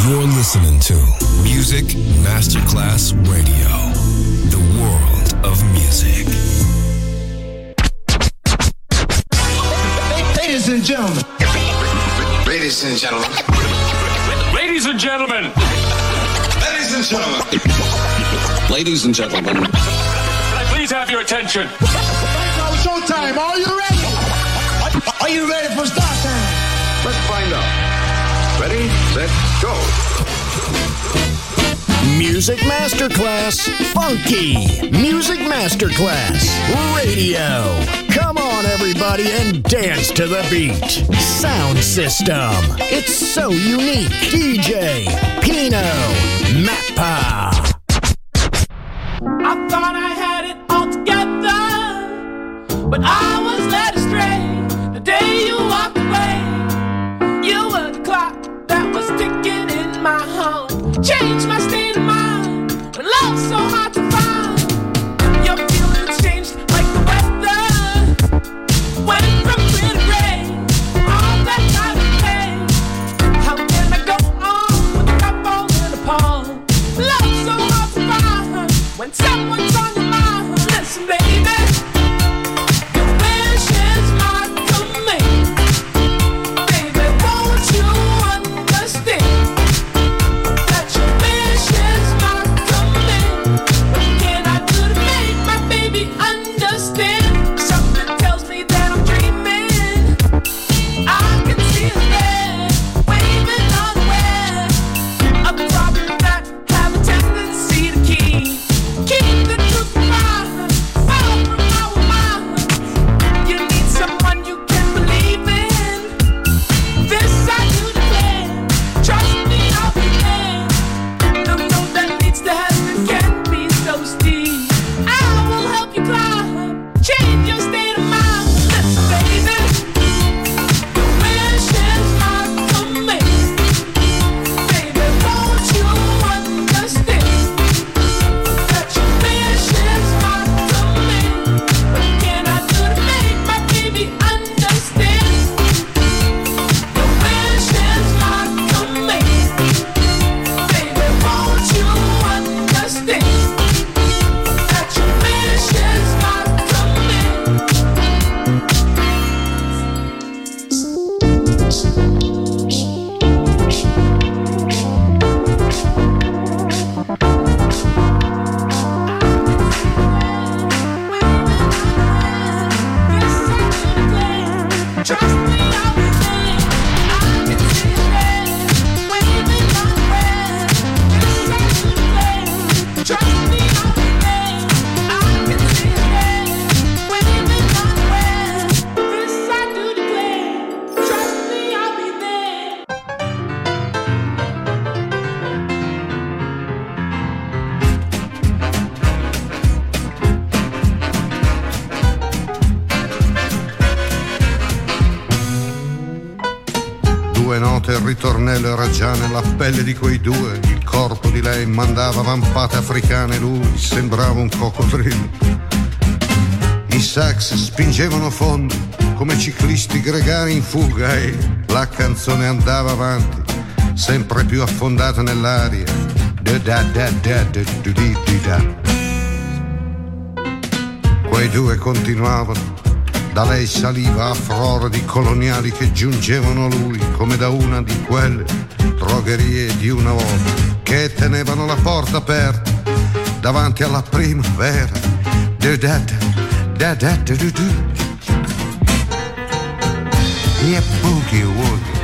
You're listening to Music Masterclass Radio, the world of music. Ladies and gentlemen. Ladies and gentlemen. Ladies and gentlemen. Ladies and gentlemen. Ladies and gentlemen. Can I please have your attention? Now showtime. Are you ready? Are you ready for start time? Let's find out. Ready, set, go. Music Masterclass Funky. Music Masterclass Radio. Come on, everybody, and dance to the beat. Sound system. It's so unique. DJ Pino Mappa. I thought I had it all together, but I was led astray the day you walked away. You were the clock that was ticking in my home. Changed my state of mind when love's so hard to find. Your feelings changed like the weather. Went from clear to gray, all that time to pay. How can I go on with the cup falling apart? Love's so hard to find when someone's on your mind. Listen, baby, your wish is my command. Baby, won't you understand that your wish is my command? What can I do to make my baby understand? Something tells me that I'm dreaming. I can see his head waving unaware of problems that have a tendency to keep the truth from far from our minds. You need someone you can believe in. This I do declare. Trust me, I'll be there. The road that leads to heaven can be so steep. I will help you climb. Change your state of mind. Listen, baby, your wish is my command. Baby, won't you understand that your wish is my command? What can I do to make my baby understand? Your wish is my command. Baby, won't you understand that your wish is my Trust me, I'll be there. I can see his head waving unaware. This I do declare. Trust me, I'll be there. I can see his head waving unaware. This I do declare. Trust me, I'll be there. Due note, il ritornello era già nella pelle di quei due. Il corpo di lei mandava vampate africane, lui sembrava un coccodrillo. I sax spingevano fondo come ciclisti gregari in fuga e la canzone andava avanti, sempre più affondata nell'aria. Da-da-da-da-da-da-da-da. Quei due continuavano. Da lei saliva a froro di coloniali che giungevano a lui come da una di quelle drogherie di una volta che tenevano la porta aperta davanti alla primavera. Yeah, boogie woogie,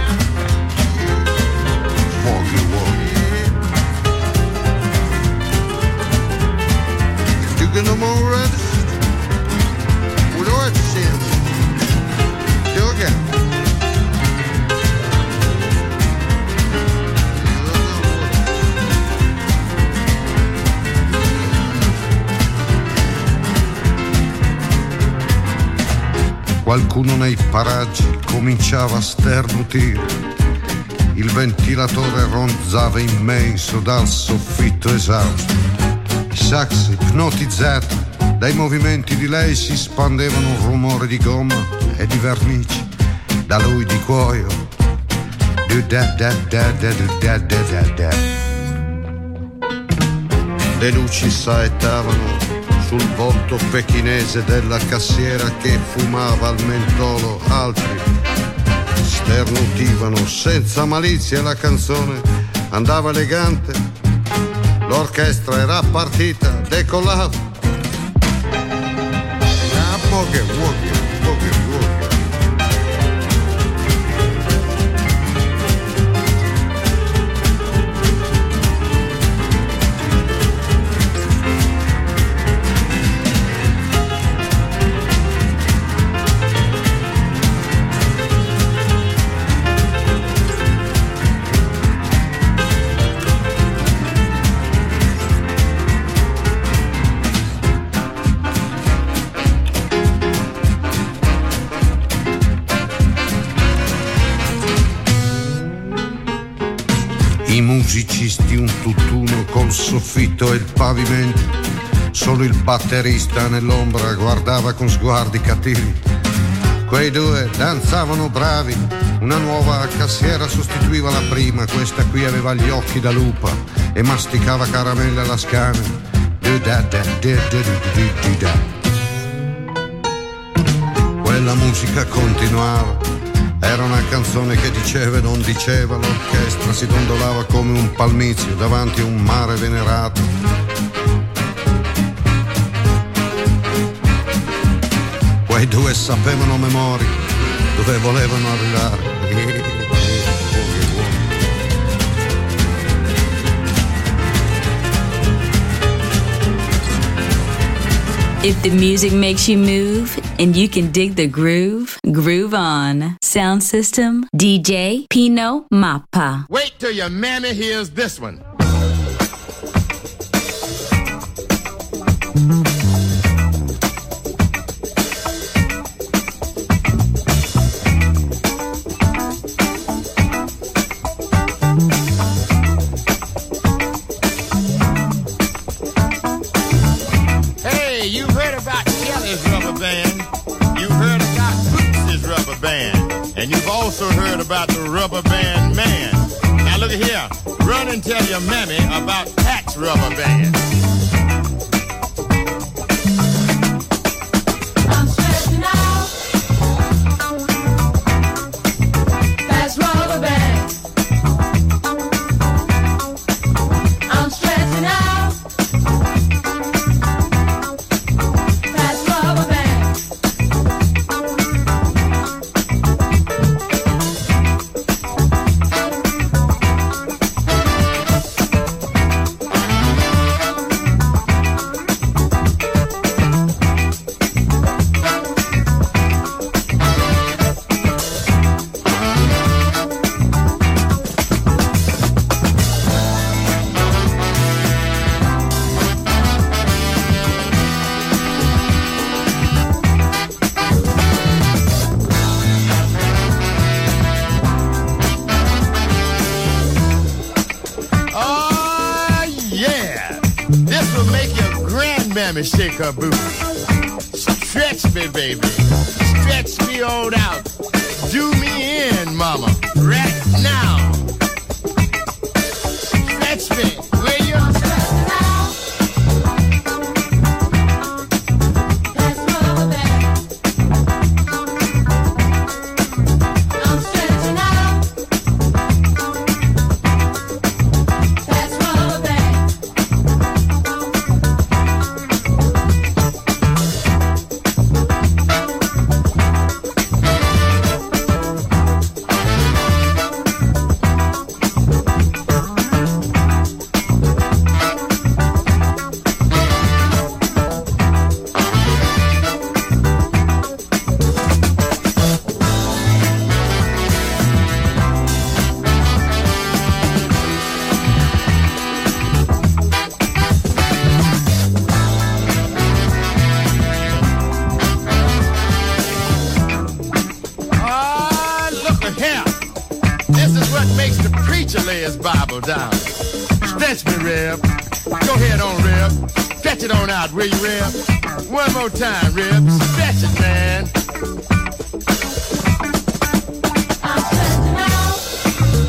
woogie woogie. You get no more red? Do again. Qualcuno nei paraggi cominciava a sternutire. Il ventilatore ronzava immenso dal soffitto esausto. I sax ipnotizzati dai movimenti di lei si spandevano un rumore di gomma e di vernice, da lui di cuoio, Le luci saettavano sul volto pechinese della cassiera che fumava al mentolo, altri sternutivano senza malizia. La canzone andava elegante, l'orchestra era partita, decollava. Boogie, boogie, boogie, boogie. I musicisti un tutt'uno col soffitto e il pavimento, solo il batterista nell'ombra guardava con sguardi cattivi. Quei due danzavano bravi, una nuova cassiera sostituiva la prima, questa qui aveva gli occhi da lupa e masticava caramelle alla scana. Quella musica continuava. Era una canzone che diceva e non diceva, l'orchestra si dondolava come un palmizio davanti a un mare venerato. Quei due sapevano a memoria dove volevano arrivare. If the music makes you move and you can dig the groove, groove on. Sound system, DJ Pino Mappa. Wait till your mammy hears this one. And you've also heard about the Rubber Band Man. Now look at here. Run and tell your mammy about Pat's Rubber Band. I'm stretching out. That's Rubber Band. I'm stretching out. That's Rubber Band. Shake her booty. Stretch me, baby. Stretch me on out. Do me in, mama. Right now. Stretch me. Where you stretching out? That's Rubber Band. I'm stretching out. That's Rubber Band. Down. Stretch me, Reb. Go ahead on, Reb. Stretch it on out, will you, Reb? One more time, Reb. Stretch it, man. I'm stretching out.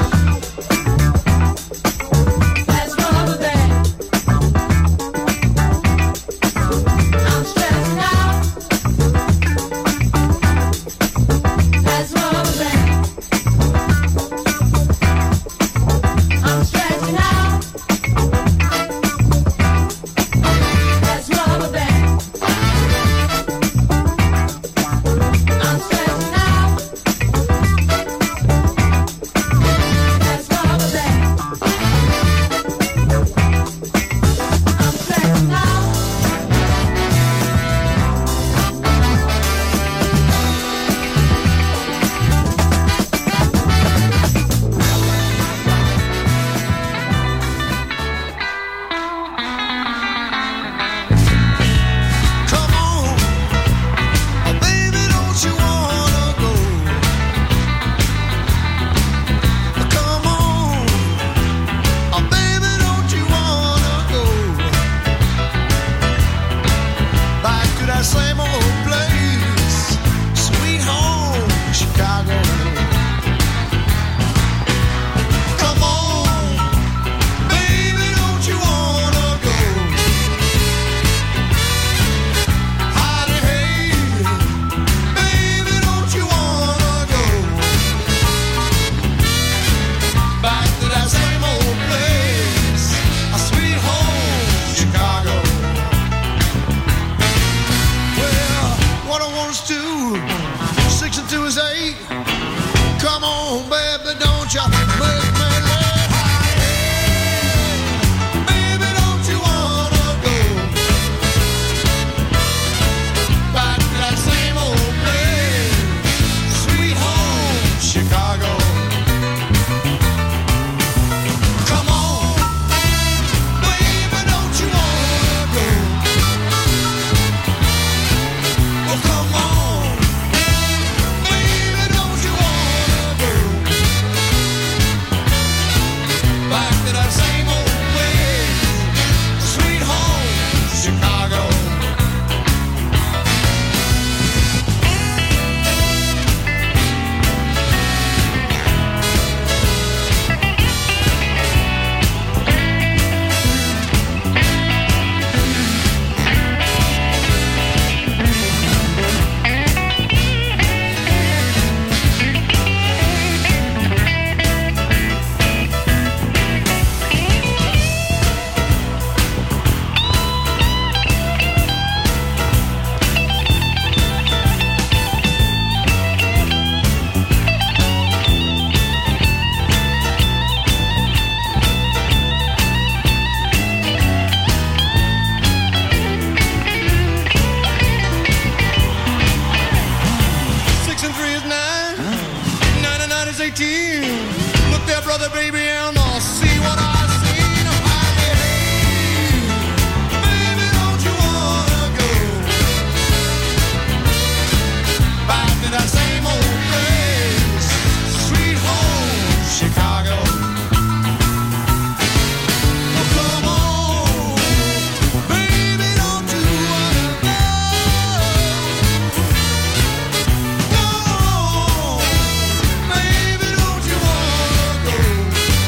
there, baby, and I'll see what I see. Now, hey, baby, don't you wanna go back to that same old place, sweet home, Chicago? Oh, come on, baby, don't you wanna go? Come on, baby, don't you wanna go?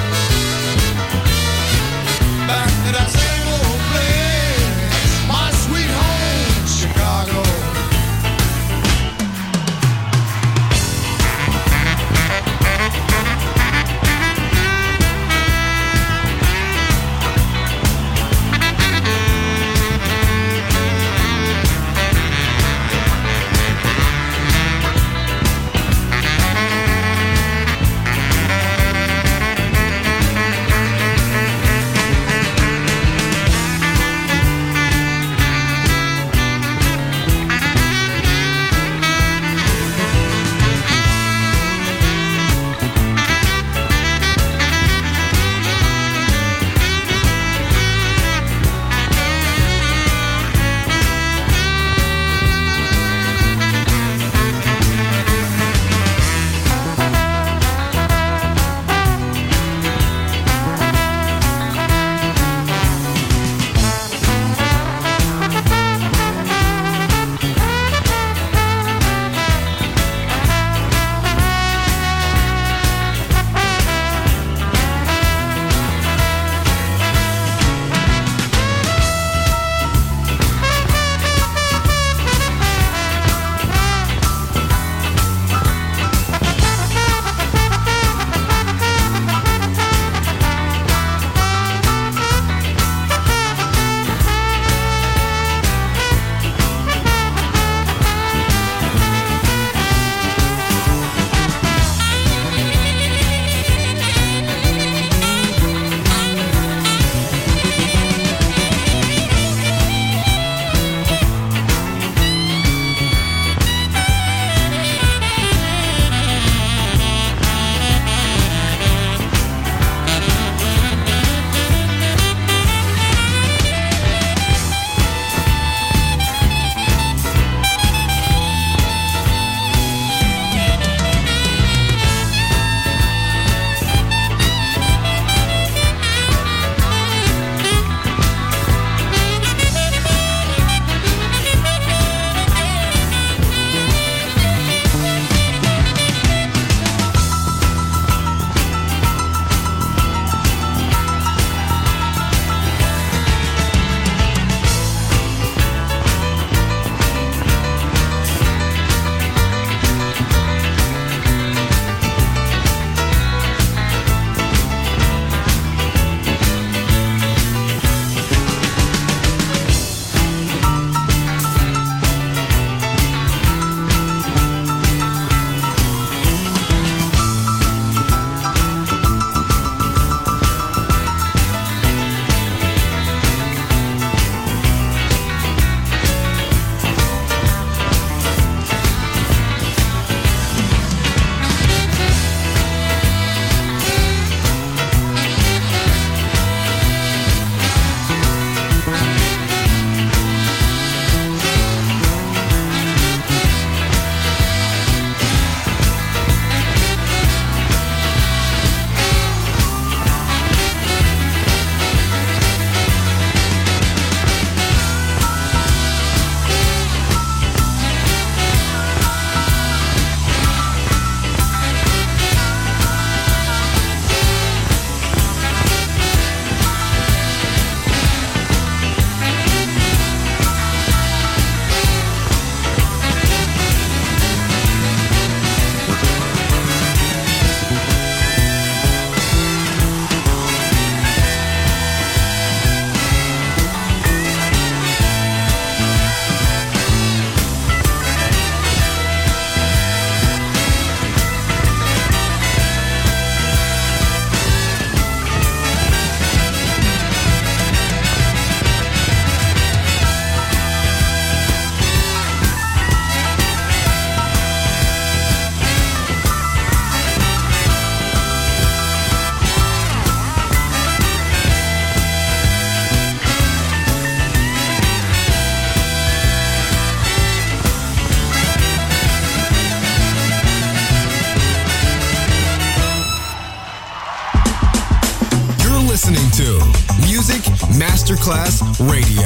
listening to Music Masterclass Radio,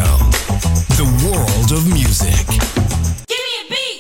the world of music. Give me a beat.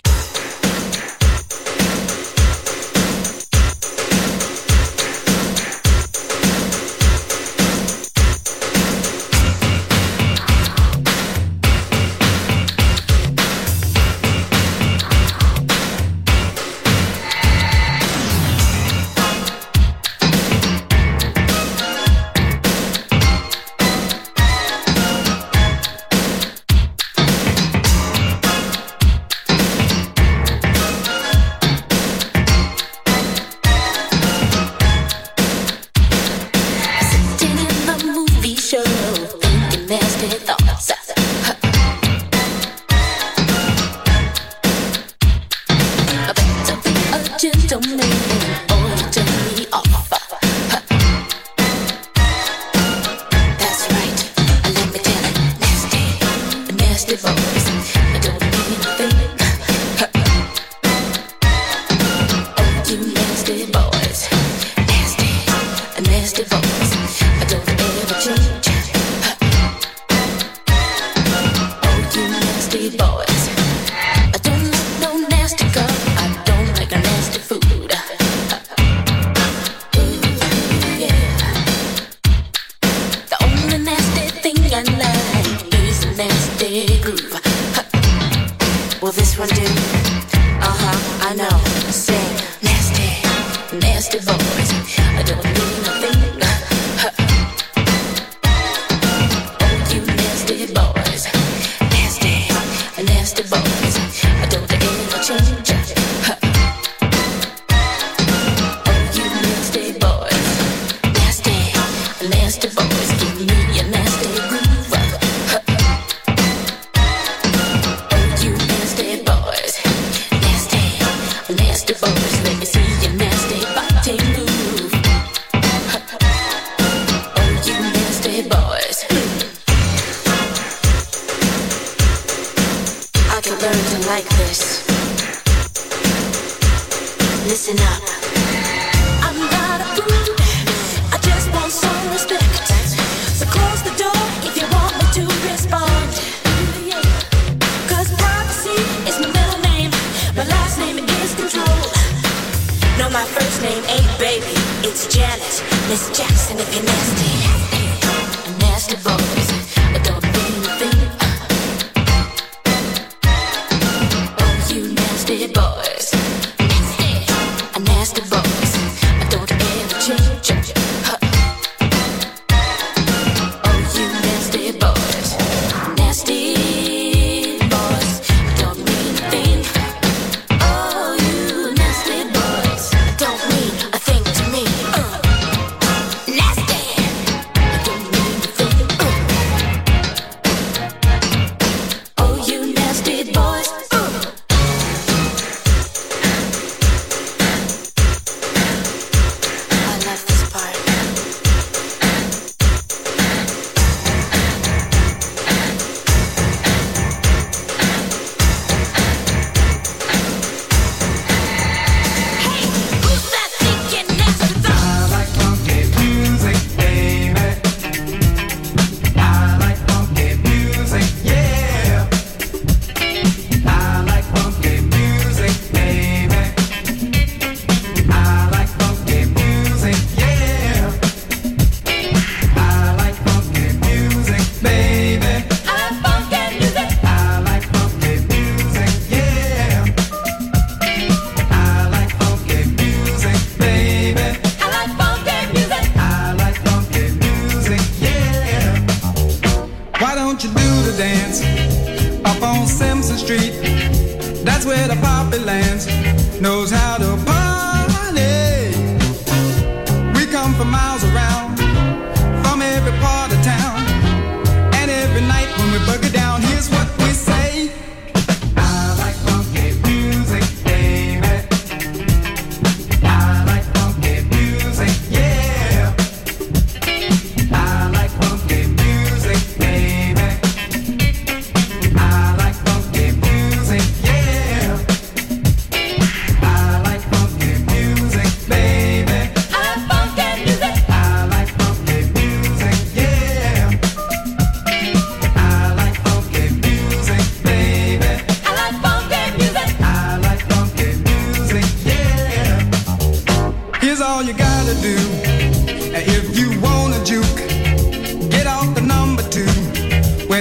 I like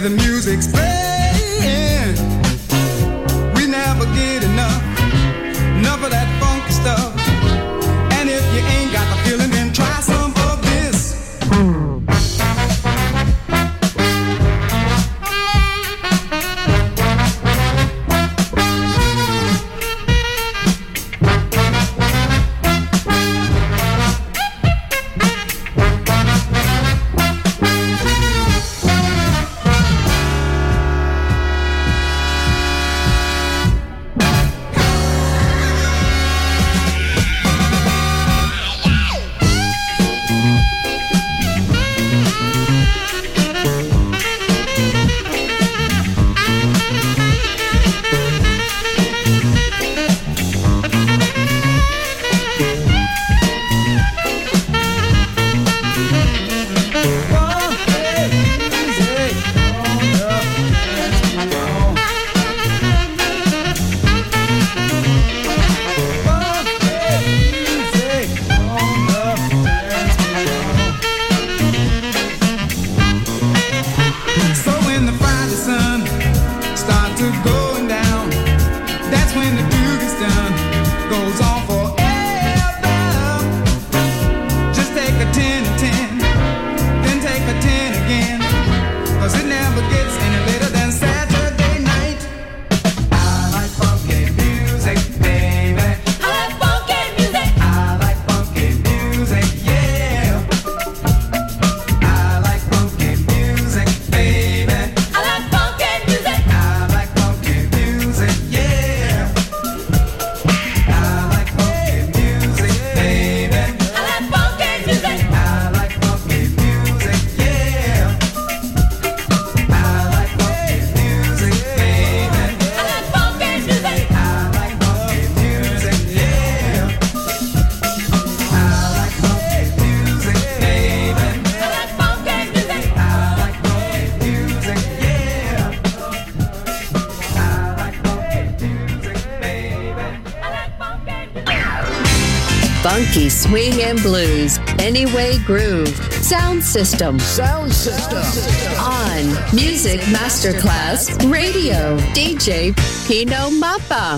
the music's playing. We never get enough of that funky stuff. And if you ain't got the feeling, then try some of this. Funky swing and blues, Anyway Groove, Sound System. On Music Masterclass Radio, DJ Pino Mappa.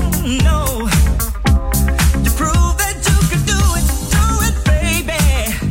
No, you prove that you can do it, baby.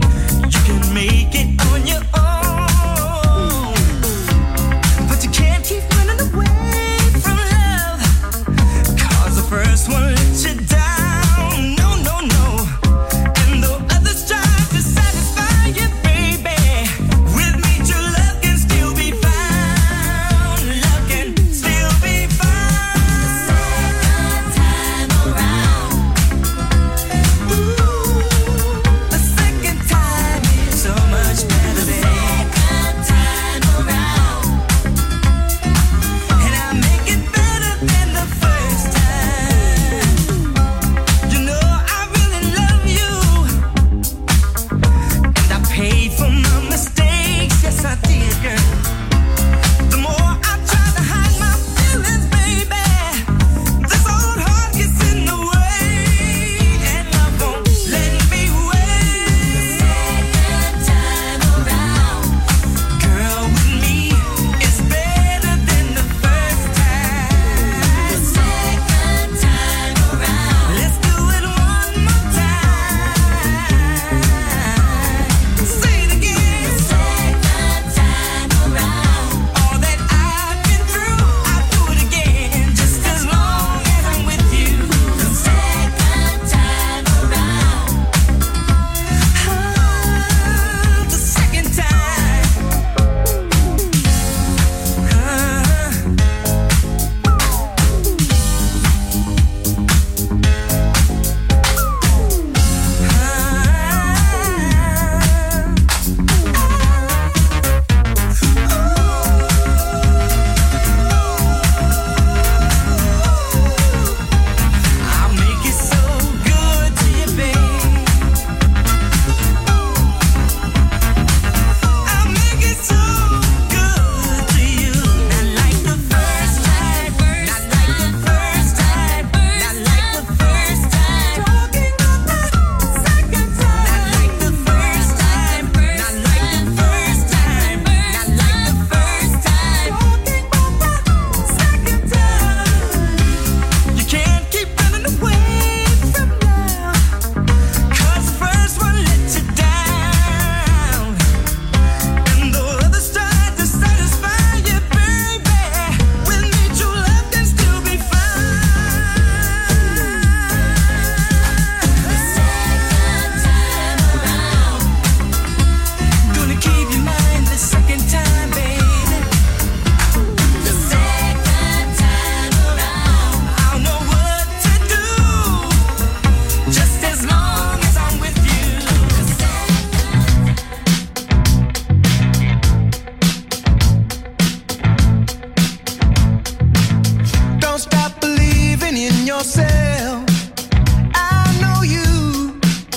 yourself. I know you.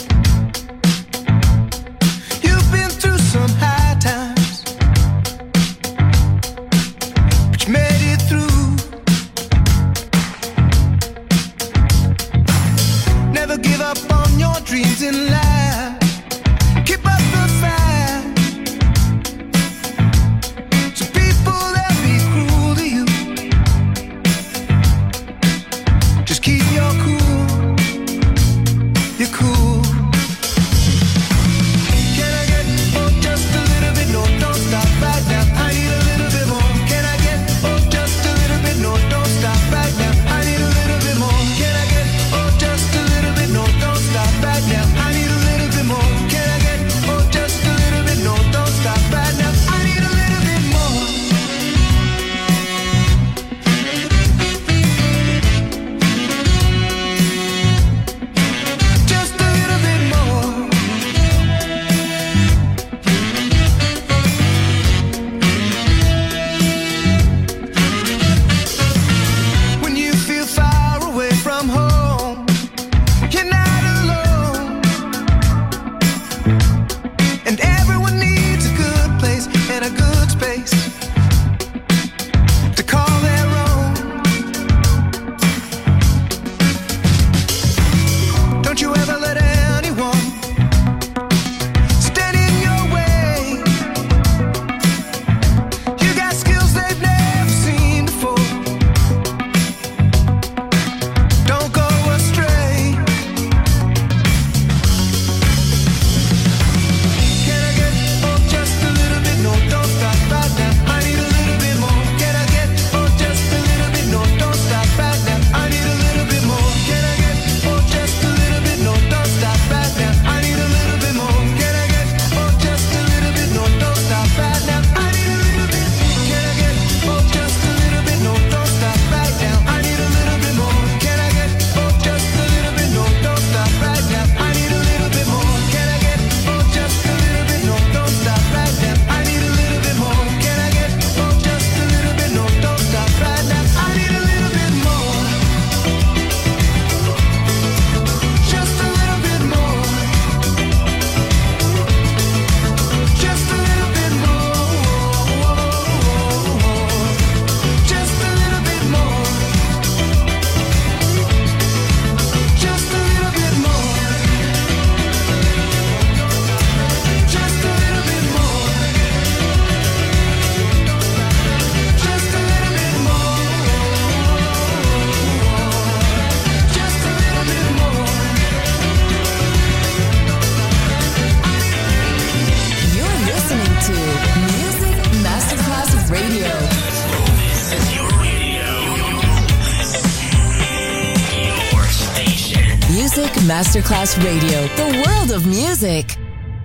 You've been through some high times, but you made it through. Never give up on your dreams in life. Keep up the fight. Some people that be cruel to you. Just keep your cool. You're cool. Can I get just a little bit? No, don't stop right now. I need a little bit more. Can I get just a little bit? No, don't stop right now. I need a little bit more. Can I get just a little bit? No, don't stop right now. I need a little bit more. Can I get just a little bit? No, don't stop right now. I need a little bit more. Just a little bit more. When you feel far away from home, you're not alone. And everyone needs a good place and a good space to call their own. Don't you ever let anyone stand in your way. You got skills they've never seen before. Don't go astray. Can I get just a little bit? No, don't stop right now. I need a little bit more. Can I get just a little bit? No, don't stop right now. I need a little bit more. Can I get just a little bit? No, don't stop right now. I need a little bit more. Can I get just a little bit? No, don't stop right now. I need a little bit. Can I get just a little bit? No, don't stop right now. I need a little bit more. Can I get just a little bit? No, don't stop right now. I need a little bit more. Can I get just a little bit? No, don't stop right now. I need a little bit more. Can I get just a little bit? No, don't stop right now. I need a little bit more. Just a little bit more. Just a little bit more. Just a little bit more. Just a little bit more. Just a little bit more. Just a little bit more. Just a little bit more. You're listening to Music Masterclass Radio. This is your radio. Your station. Music Masterclass Radio. The world of music.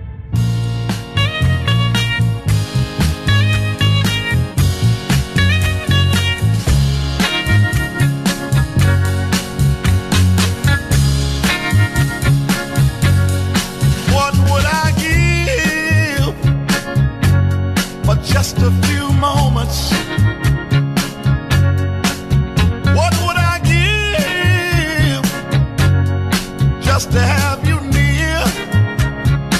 What would I give for just a few moments? What would I give just to have you near?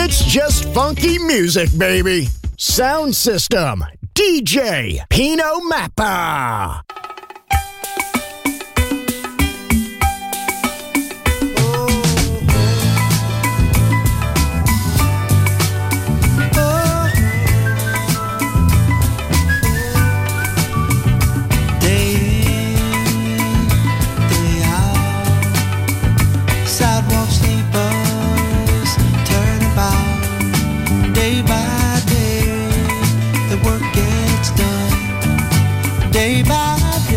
It's just funky music, baby. Sound System, DJ Pino Mappa. Day by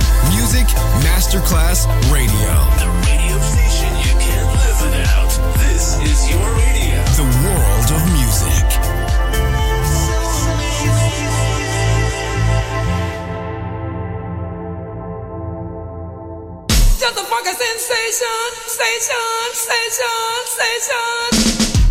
Music Masterclass Radio. The radio station you can't live without. This is your radio. The world of music. Just a fucking sensation, sensation.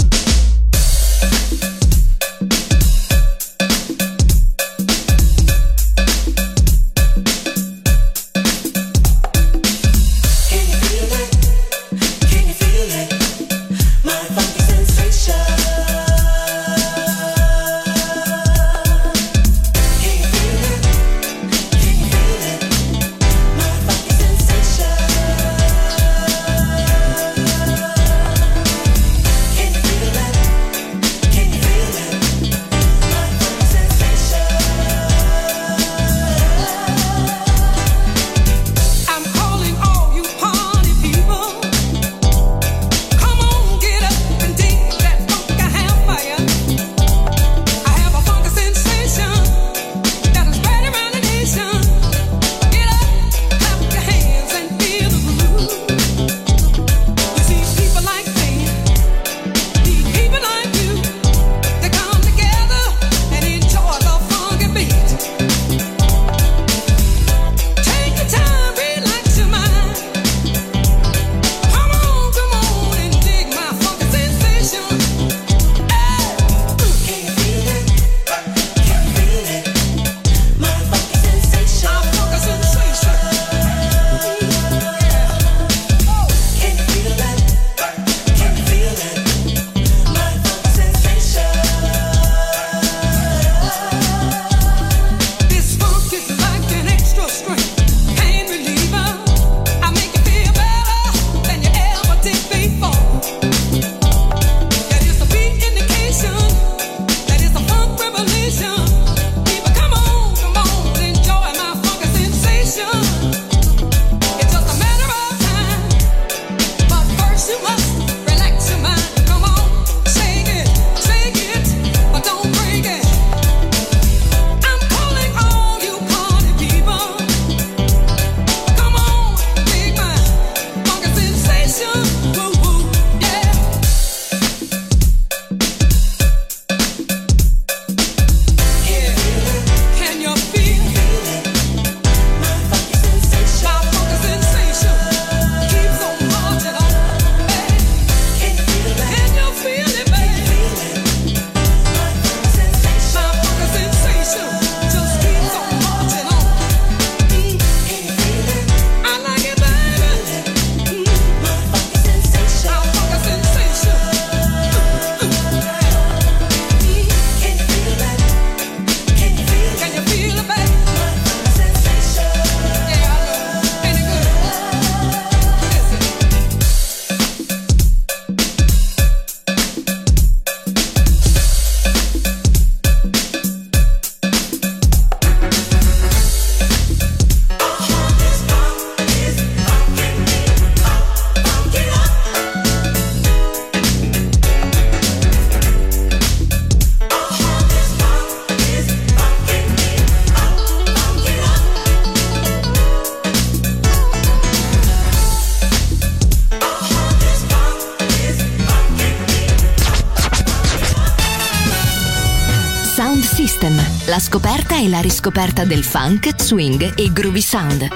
La scoperta e la riscoperta del funk, swing e groovy sound.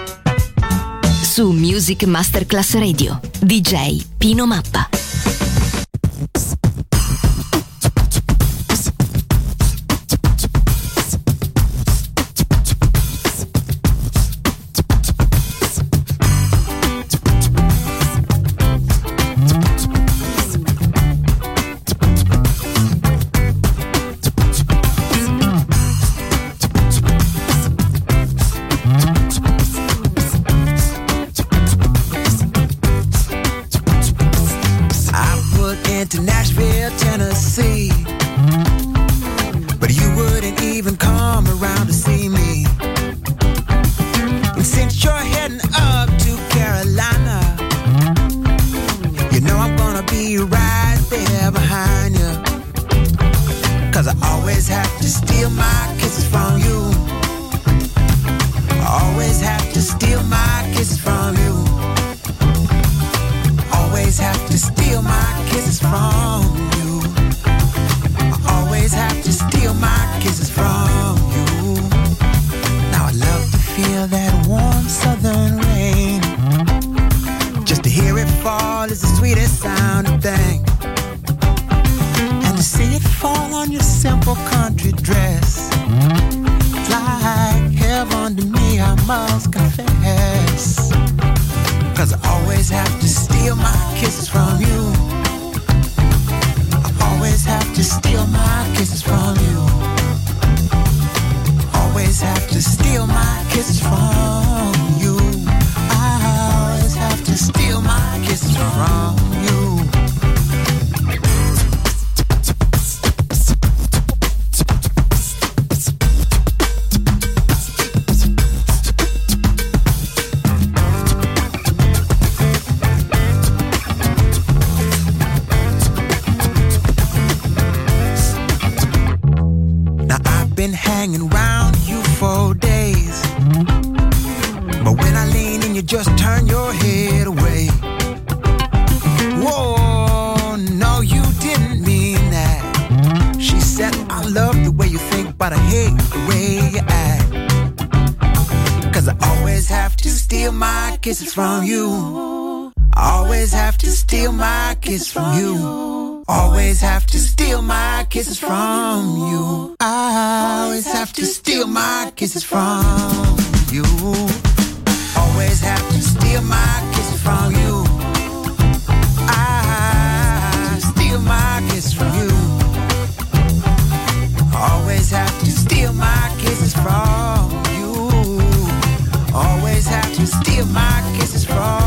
Su Music Masterclass Radio, DJ Pino Mappa. kisses from you. Always have to steal my kisses from you. I always have to steal my kisses from you. Now I love to feel that warm southern rain. Just to hear it fall is the sweetest sounding thing. And to see it fall on your simple country dress, it's like heaven to me, I must confess. 'Cause I always have to steal my kisses from you. I always have to steal my kisses from you. Always have to steal my kisses from you. I always have to steal my kisses from you. Been hanging around you for days, but when I lean in, you just turn your head away. Whoa, no, you didn't mean that. She said, I love the way you think, but I hate the way you act. 'Cause I always have to steal my kisses from you. I always have to steal my kisses from you. Always have to steal my kisses from you. I always have to steal my kisses from you. Always have to steal my kisses from you. I steal my kisses from you. Always have to steal my kisses from you. Always have to steal my kisses from you.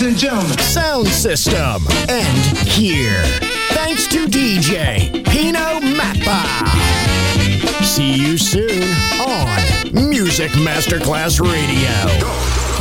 Ladies and gentlemen, Sound System. And here, thanks to DJ Pino Mappa. See you soon on Music Masterclass Radio.